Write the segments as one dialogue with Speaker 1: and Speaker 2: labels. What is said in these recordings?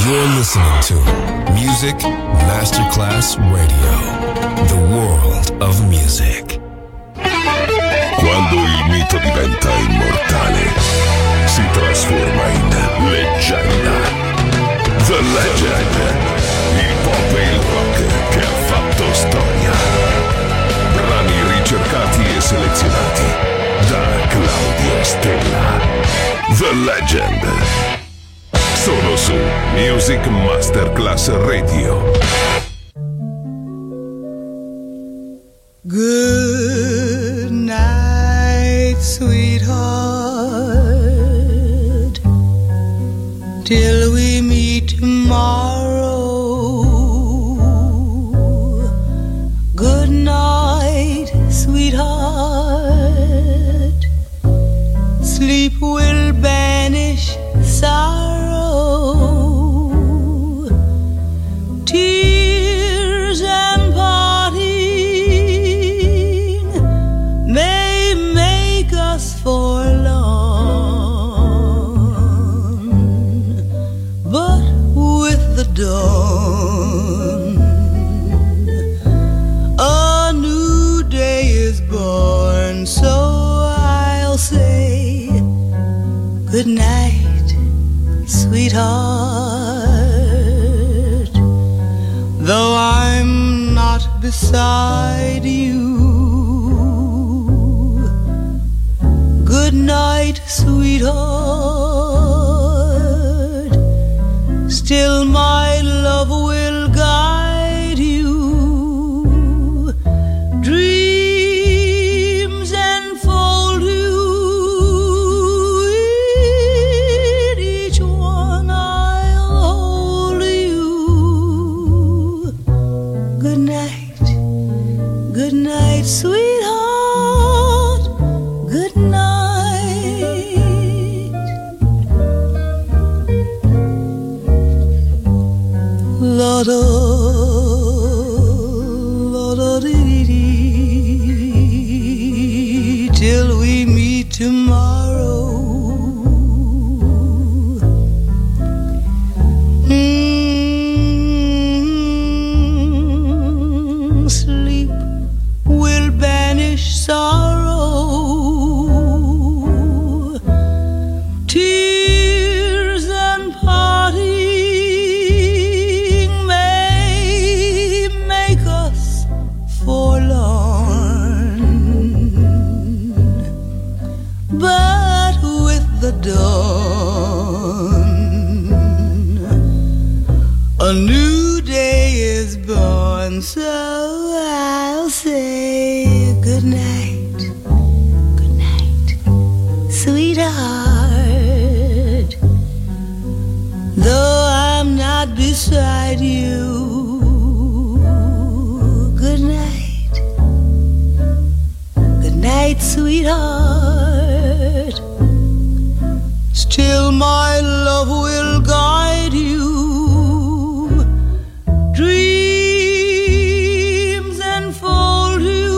Speaker 1: You're listening to Music Masterclass Radio, the world of music.
Speaker 2: Quando il mito diventa immortale, si trasforma in leggenda. The Legend, il pop e il rock che ha fatto storia. Brani ricercati e selezionati da Claudio Stella. The Legend. Solo su Music Masterclass Radio.
Speaker 3: Good night, sweetheart, till we meet tomorrow. Good night, sweetheart, sleep will banish sorrow. Tears and parting may make us forlorn, but with the dawn a new day is born. So I'll say good night, sweetheart, though I'm not beside you. Good night, sweetheart, still my love will guide you. Dreams enfold you, in each one I'll hold you. Good night, sweetheart, good night. La-da-dee-dee, till we meet tomorrow. Sleep will banish sorrow. Tears and parting may make us forlorn, but with the dawn a new day is born. So I'll say good night, sweetheart, though I'm not beside you. Good night, sweetheart, still my love will guide you. Dreams enfold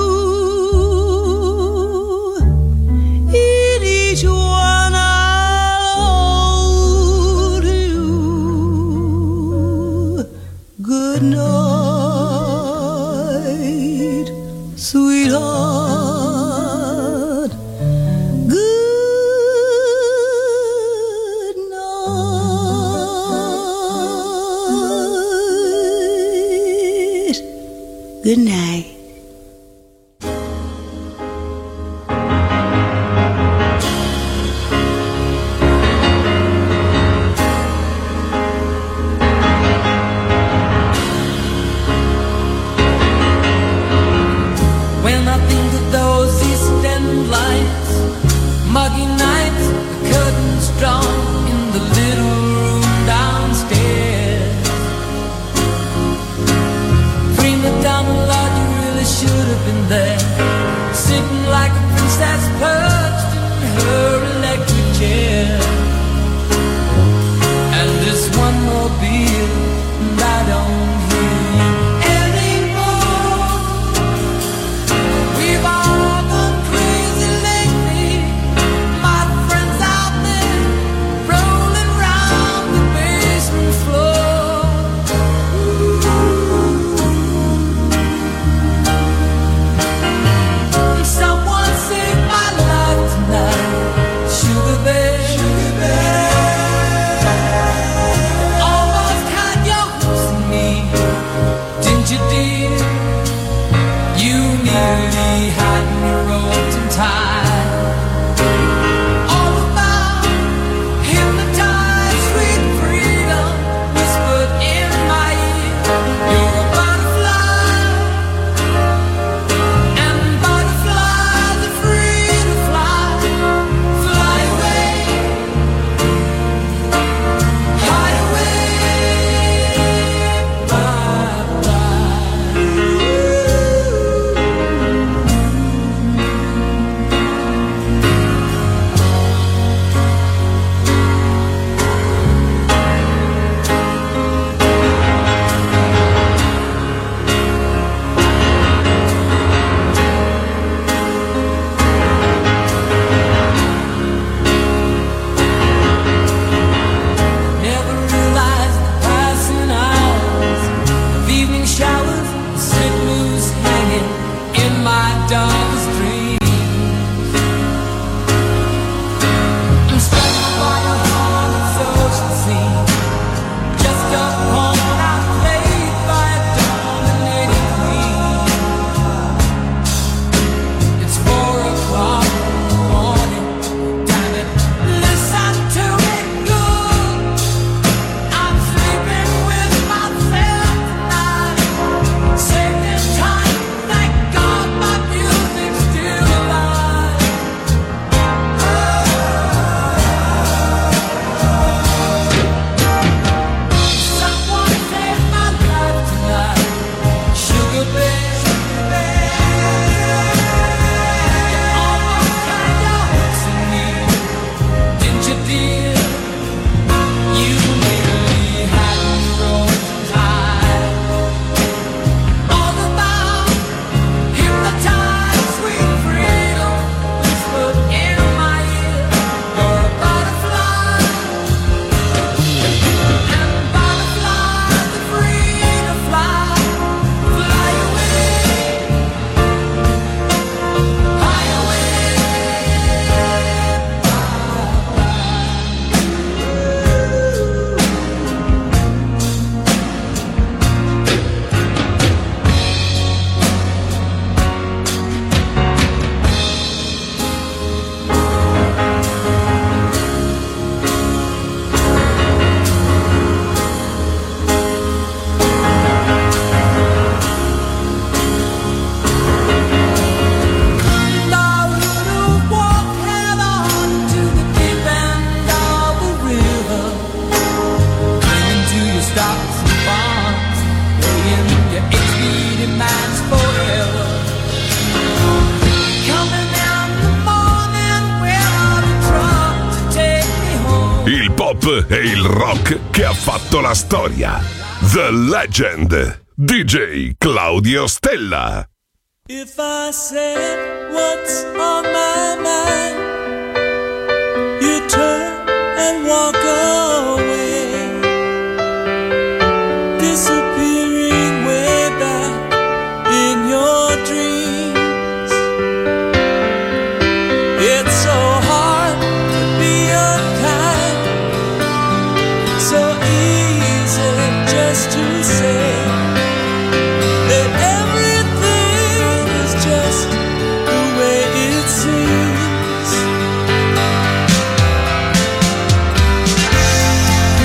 Speaker 3: you, in each one I'll hold you. Good night, sweetheart, good night, good night.
Speaker 4: When I think of those East End lights, muggy nights, the curtains drawn in the little room downstairs, bring me down a lot you really
Speaker 2: pop e il rock che ha fatto la storia. The Legend, DJ Claudio Stella.
Speaker 5: If I said what's on my mind, you turn and walk away, disappearing way back in your dreams. It's so hard to be unkind, so easy just to say that everything is just the way it seems.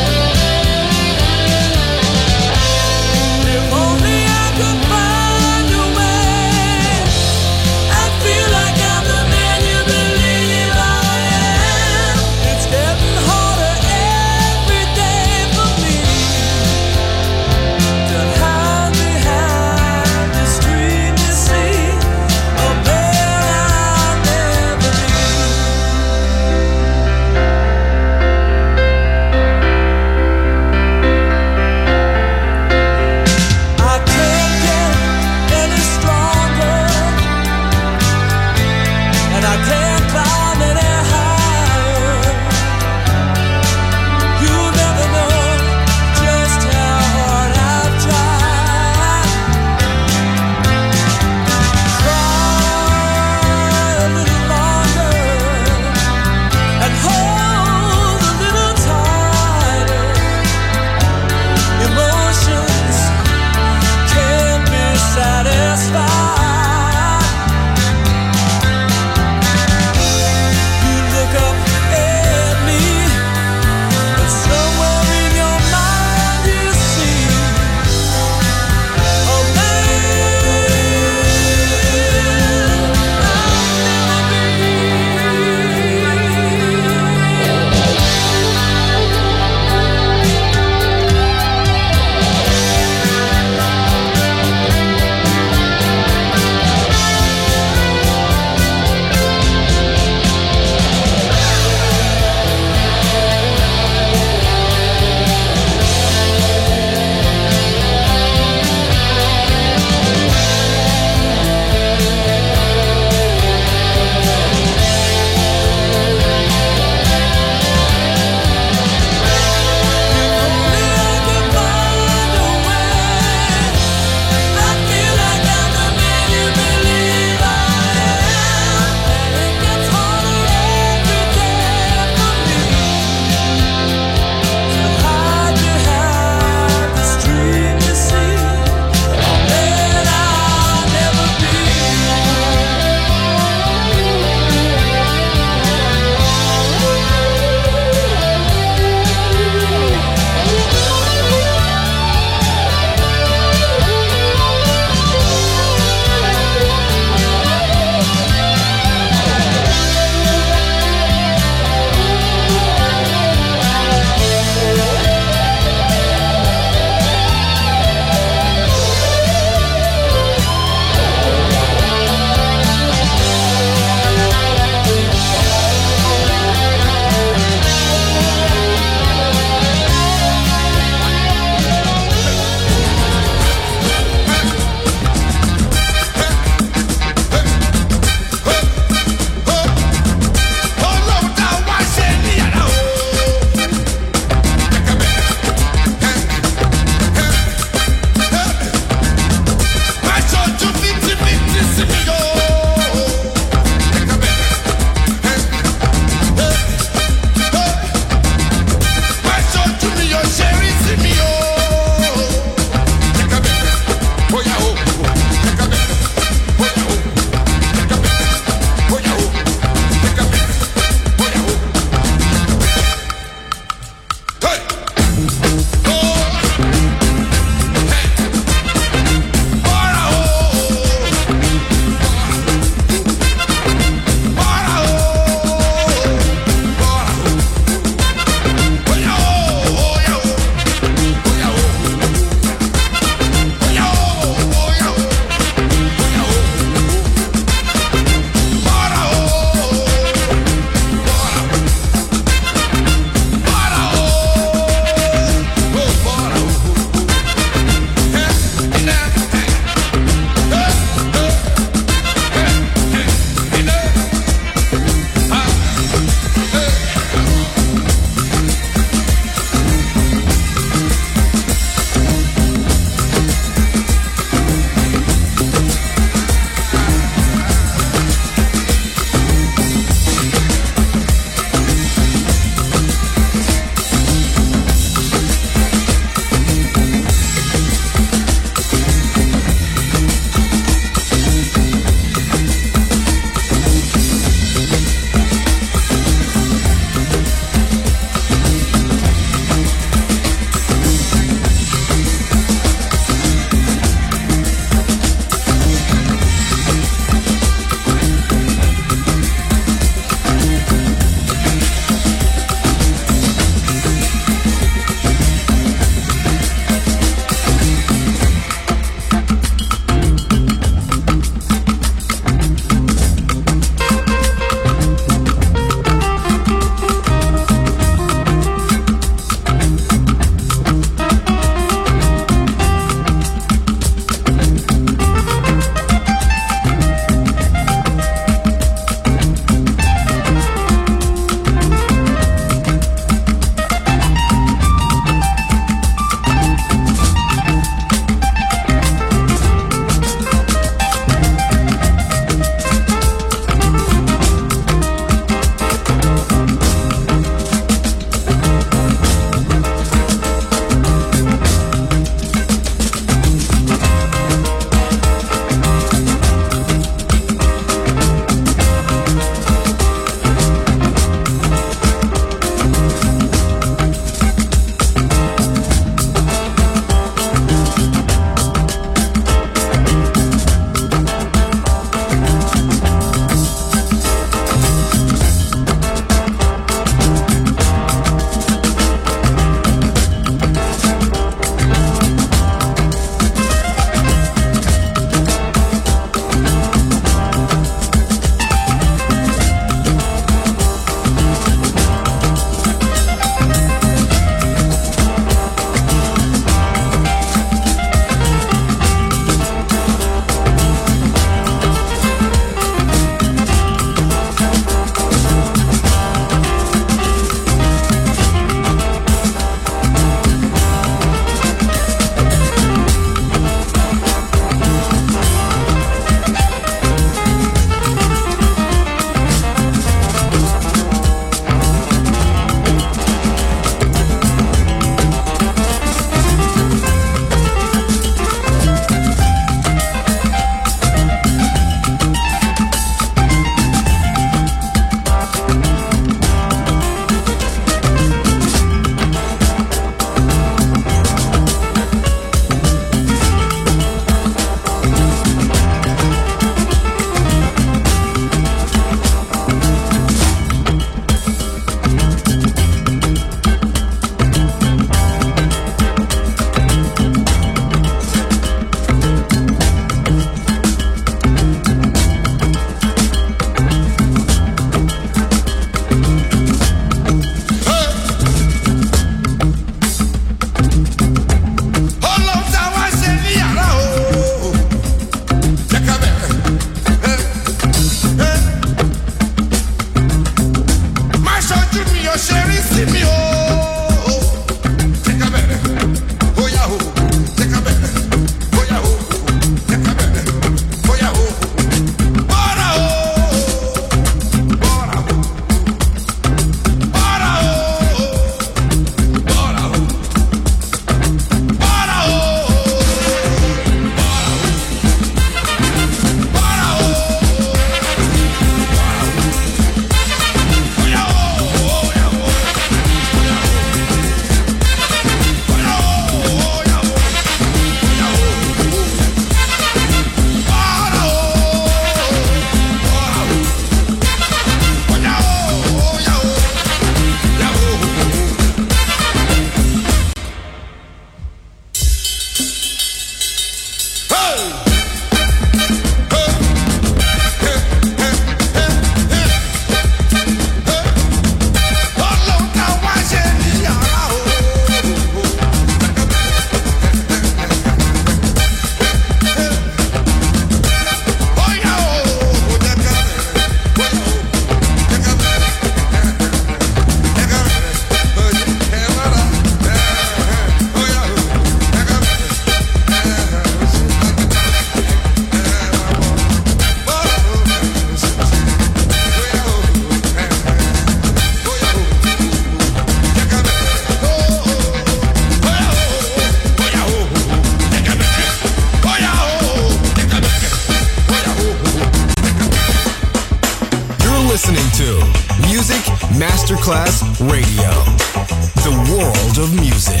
Speaker 1: Masterclass Radio, the world of music.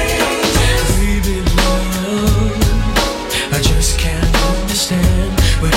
Speaker 5: Baby, love, I just can't understand.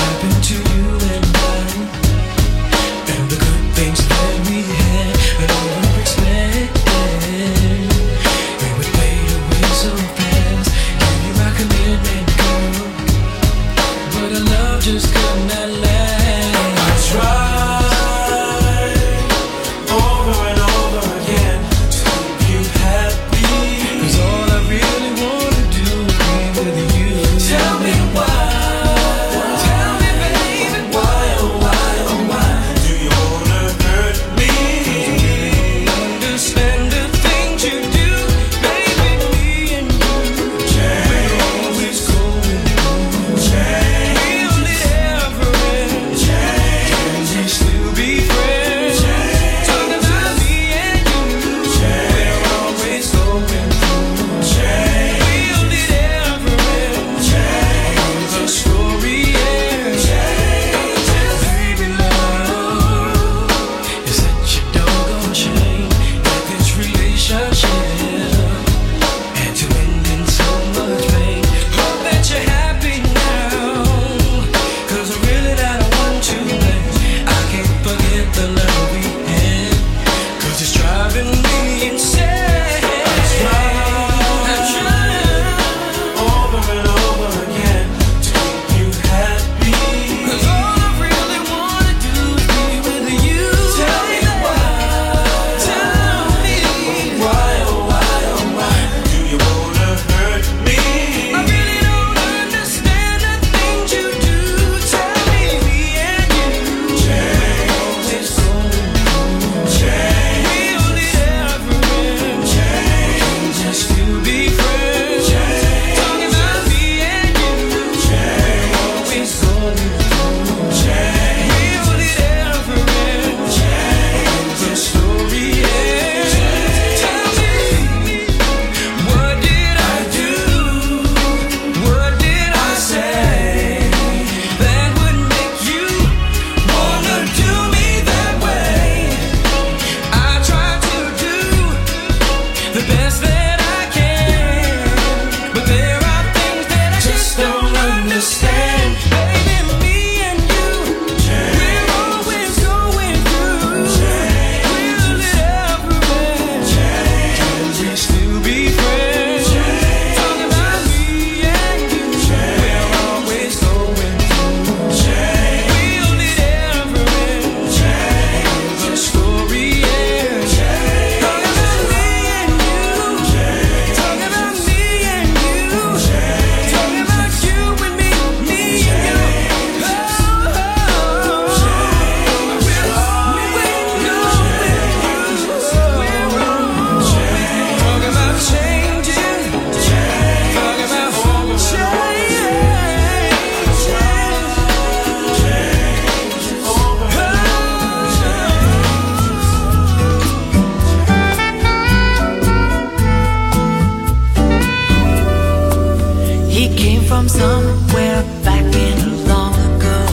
Speaker 6: from somewhere back in long ago.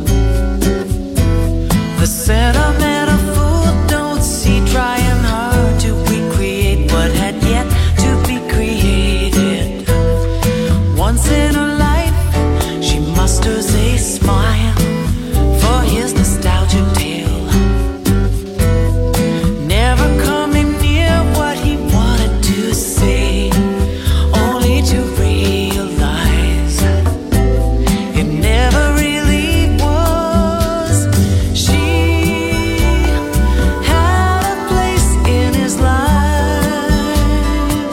Speaker 6: The sentimental fool don't see trying hard to recreate what had yet to be created. Once in her life, she musters a smile for his nostalgic tale. Never coming near what he wanted to say, only to realize it never really was. She had a place in his life.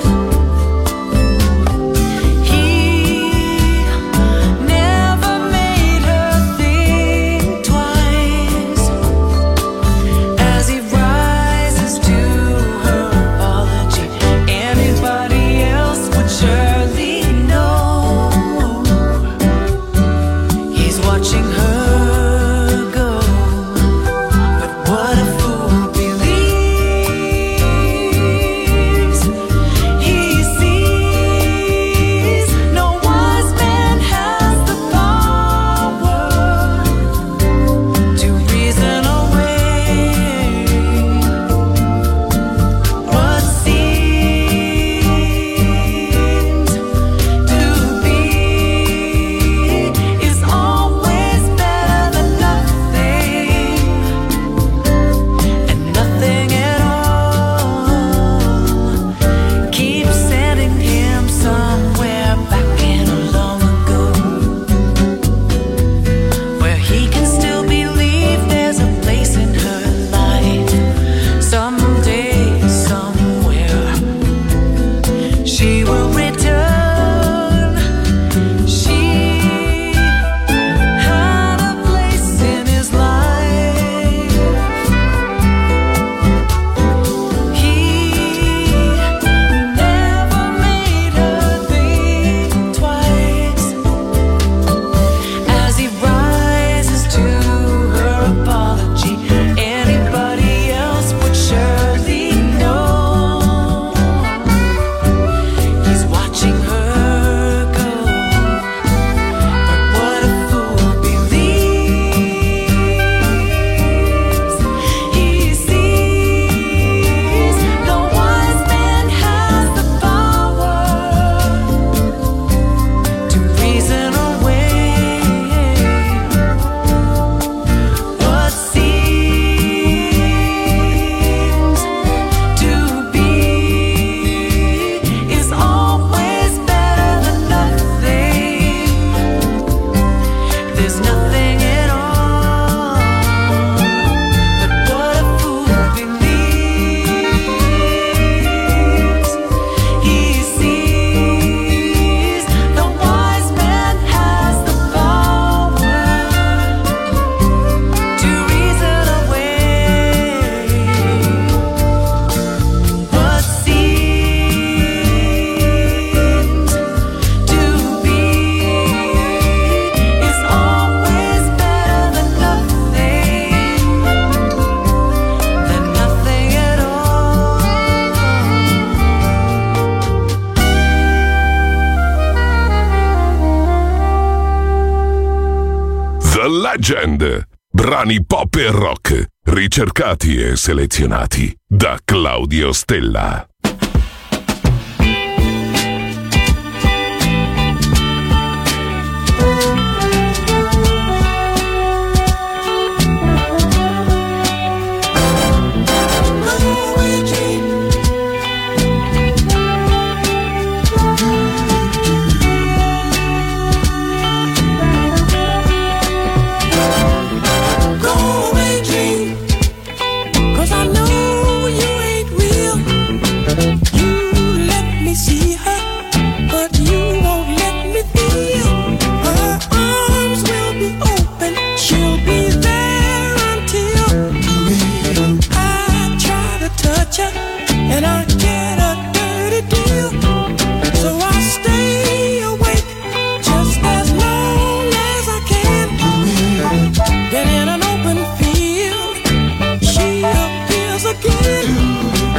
Speaker 6: He never made her think twice. As he rises to her apology, anybody else would surely know. He's watching her go, but what a fool believes. He sees no wise man has the power to reason away what seems to be is always better than nothing, and nothing at all. Keep sending him somewhere back in long ago, where he can still believe there's a place in her life. Someday, somewhere, she will return. She had a place in his life. He never made her think twice. As he rises to her apology, anybody else would surely know. He's watching her go, but what a fool believes. He sees no wise man has the power to reason away what seems to be is always better than nothing. There's nothing at all, but what a fool believes. He sees the wise man has the power to reason away what seems to be is always better than nothing at all.
Speaker 2: The Legend. Brani pop e rock, ricercati e selezionati da Claudio Stella.
Speaker 5: Go away, dream, 'cause I know you ain't real.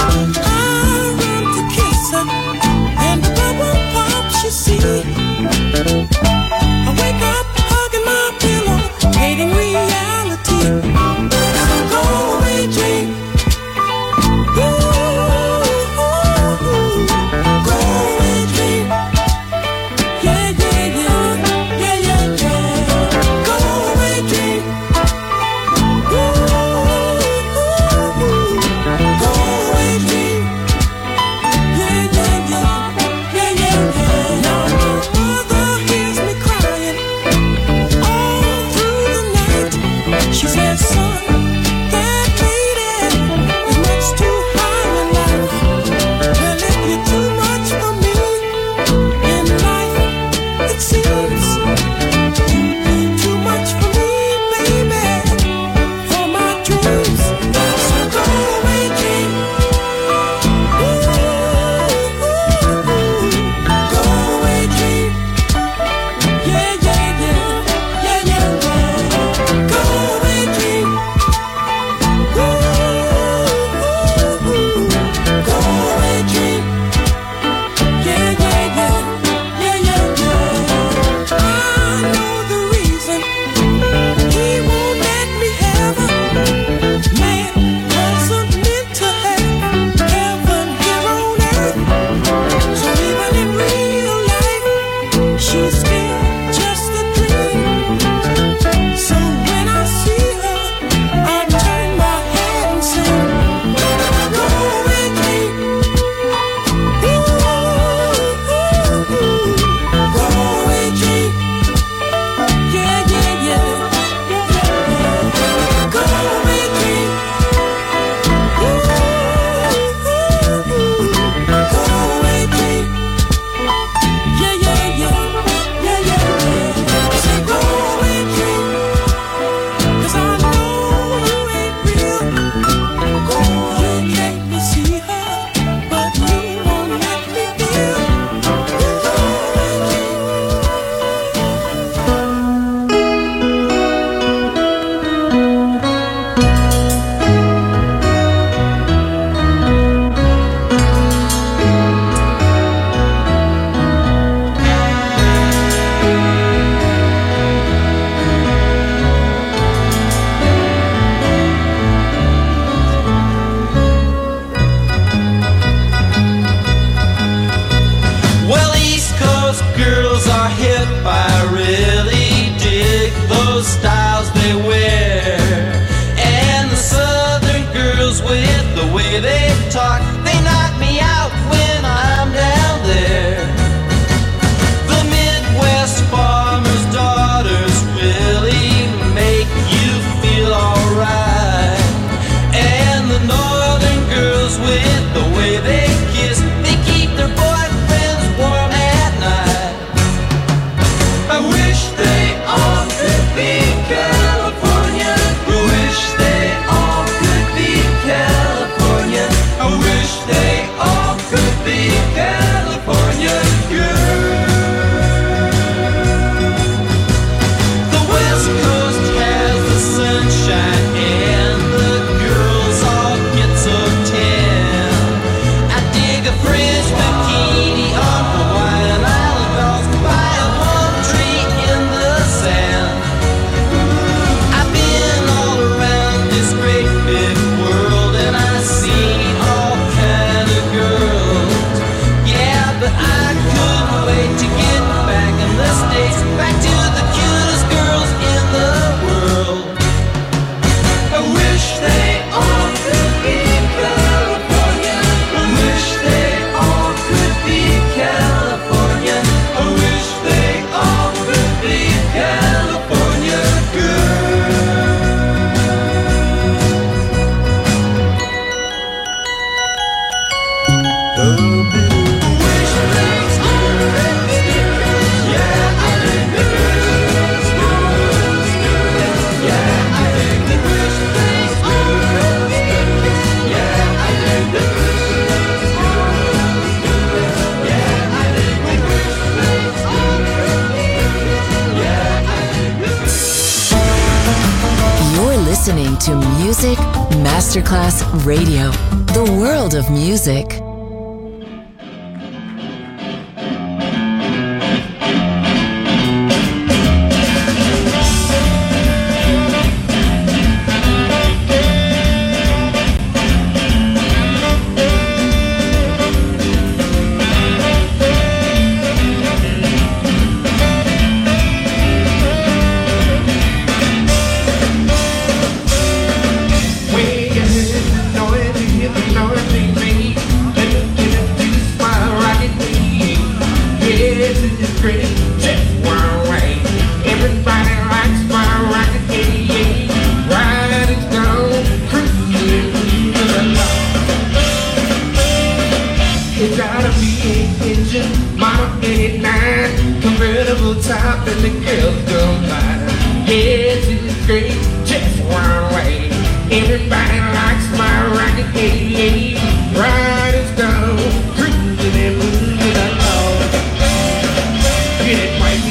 Speaker 7: I run to kiss her, and the bubble pop she see.
Speaker 5: I wake up hugging my pillow, hating reality. Go away, dream. Go away, dream. Yeah, yeah, yeah, yeah, yeah, yeah. Go away, dream. Go away, dream. Yeah, yeah, yeah, yeah, yeah, yeah. Now my mother hears me crying all through the night. She says, son, that lady is much too high in life. Well, if you're too much for me in life, it seems you're too much for me, baby, for my dreams. So go away, dream. Go away, dream. Yeah, yeah, yeah, yeah, yeah, yeah. Go away, dream. Go away, dream. Yeah, yeah, yeah, yeah, yeah, yeah. I know the reason he won't let me have her. Man wasn't meant to have heaven here on earth. So even in real life, she's still just a dream. So when I see her, I turn my head and sing, go away, dream. Go away, dream. Yeah, yeah, yeah, yeah, yeah. Go away, dream. Go away, dream. Yeah, yeah, yeah, yeah, yeah, yeah. Say go away, dream. 'Cause I know you ain't real. Go away, let me see her, but you won't let me feel. Go away, dream.
Speaker 7: Well, East Coast girls are hip. I really dig those styles they wear. And the Southern girls, with the way they talk, they knock me out when I'm down there. The Midwest farmers' daughters really make you feel alright. And the Northern girls, with the way they kiss, they keep their boyfriends warm at night. I wish they all could be California. I wish they all could be California. I wish they all could be California girls. The West Coast has the sunshine and the girls all get so tan. I dig a French bikini on Hawaiian Island dolls by a palm tree in the sand. I've been all around this great big world and I've seen all kind of girls. Yeah, but I couldn't wait to get back in the States, back to the cutest girls in the world. I wish they all could be California. I wish they all could be California. I wish they all could be California
Speaker 8: You're listening to Music Masterclass Radio, the world of music.
Speaker 9: top and the girls go by. Yes, it's great, just one way. Everybody likes my rocket, hey, riding stone, cruising and moving along. Get it, wifey.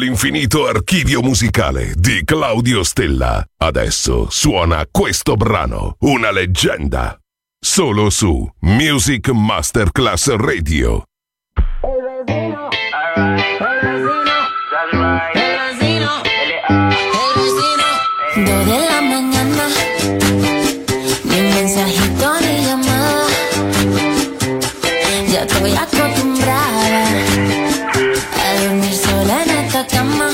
Speaker 2: nell'infinito archivio musicale di Claudio Stella. Adesso suona questo brano, una leggenda. Solo su Music Masterclass Radio.
Speaker 10: Dos de la mañana, ni mensajito ni llamada. Ya estoy acostumbrada a dormir sola en esta cama.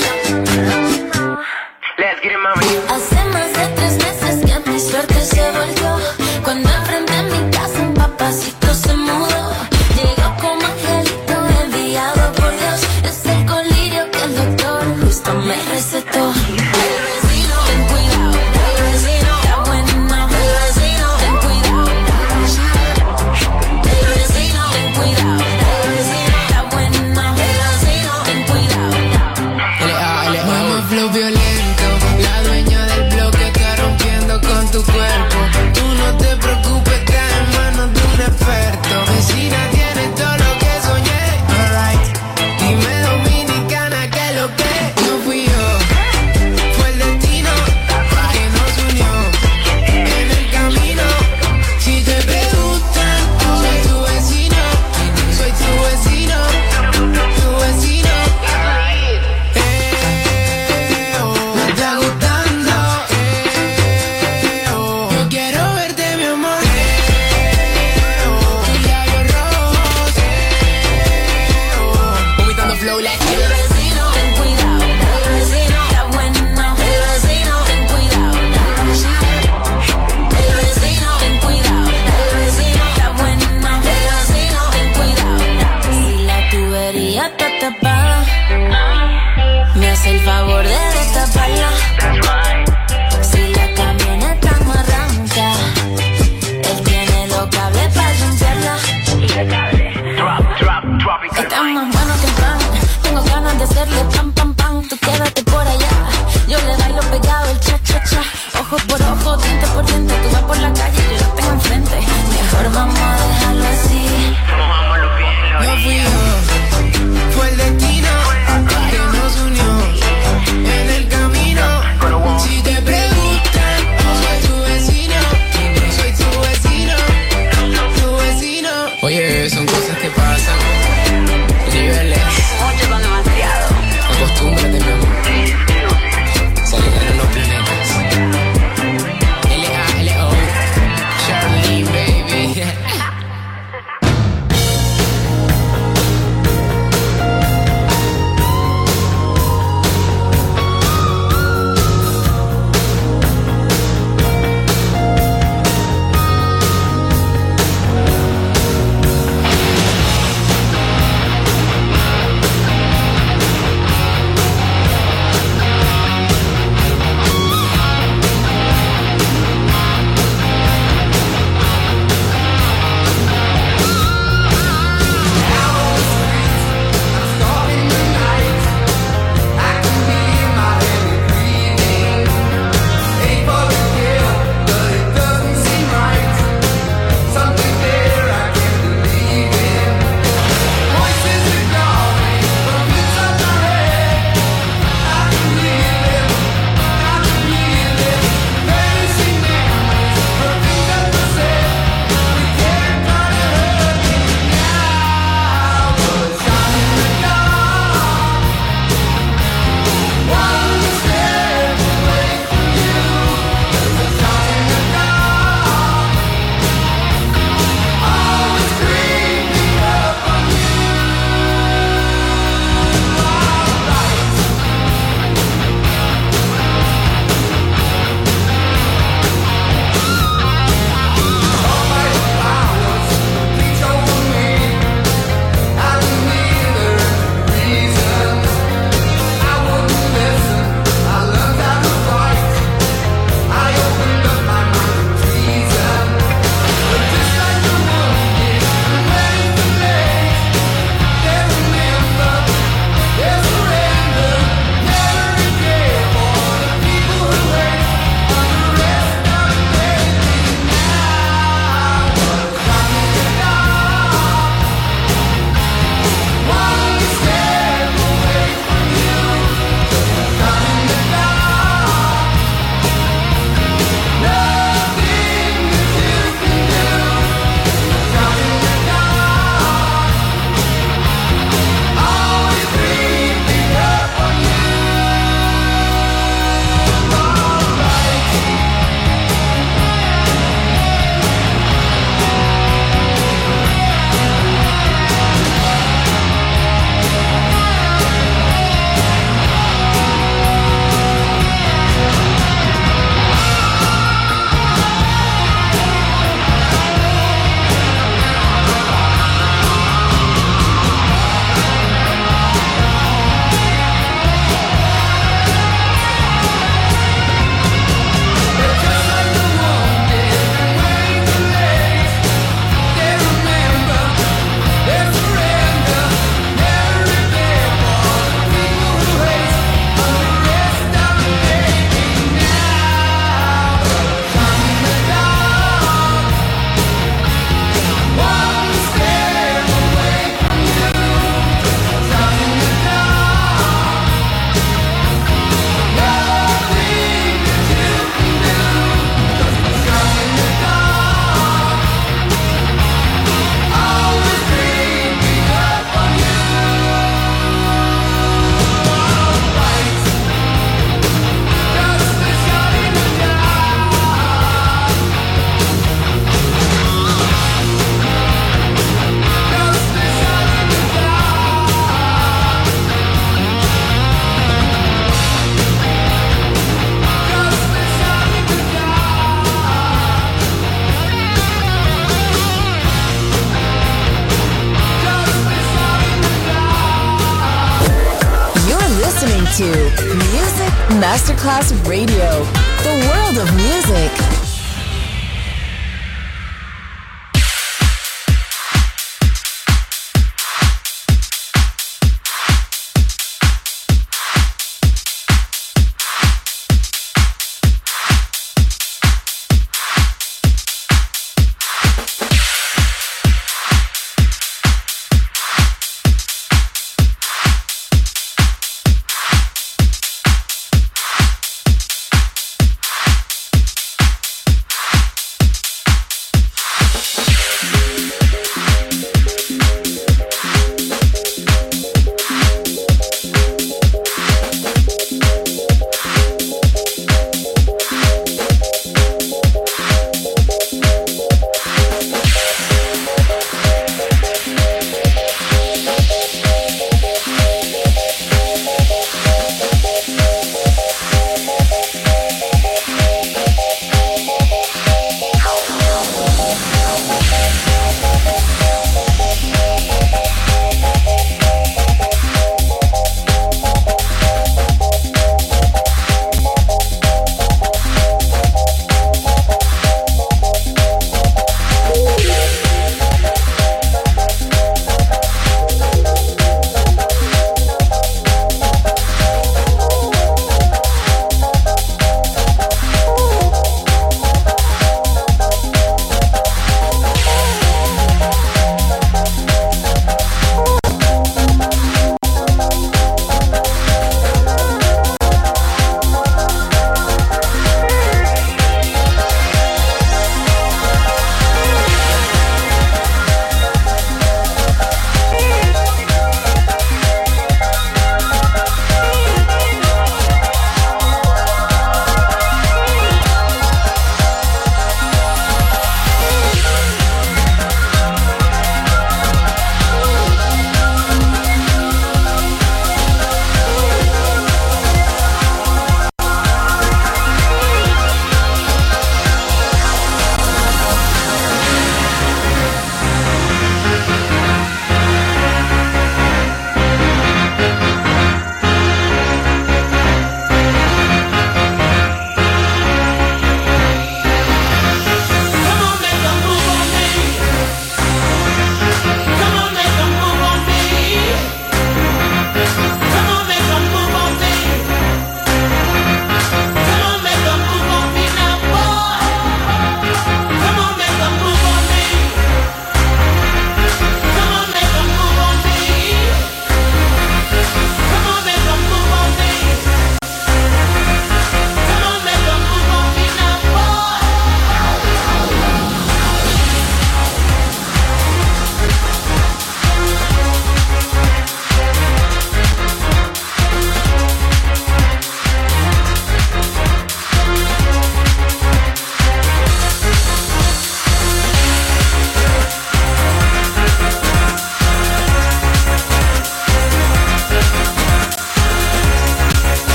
Speaker 10: Hace más de 3 meses que mi suerte se volvió. Cuando enfrente a mi casa un papacito se mudó. Llegó como angelito enviado por Dios. Es el colirio que el doctor justo me recetó.
Speaker 11: Flow violento, la dueña del bloque
Speaker 8: Masterclass Radio, the world of music.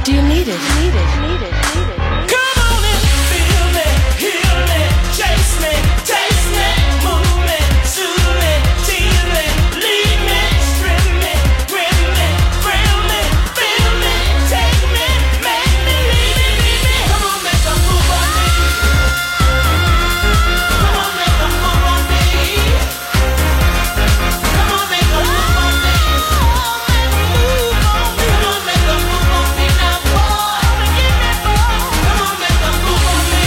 Speaker 3: Do you need it?
Speaker 5: Come on and feel me, heal me, chase me, taste me, move me, soothe me, tease me, lead me, strip me, grip me, thrill me, feel me, take me, make me, leave me. Come on, make a move on me. Come on, make a move on me. Come on, make a move on me. Come on, make a move on me now, boy. Come on, make a move on me.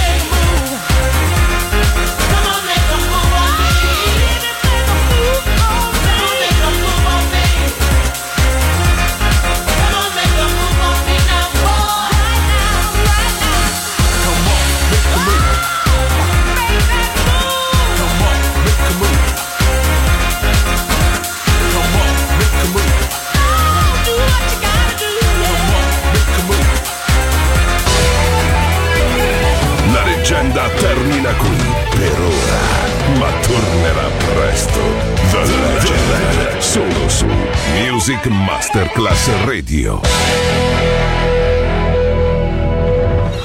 Speaker 5: Come on, make a move on me. Come on, make a move on me. Come on, make a move on me now, boy.
Speaker 11: Come on, make a move. Come on, make a move. Come on, make a move.
Speaker 5: Do what you gotta do.
Speaker 11: Come on, make a move.
Speaker 2: La leggenda termina qui per ora, ma tornerà presto. The Legend, solo su Music Masterclass Radio.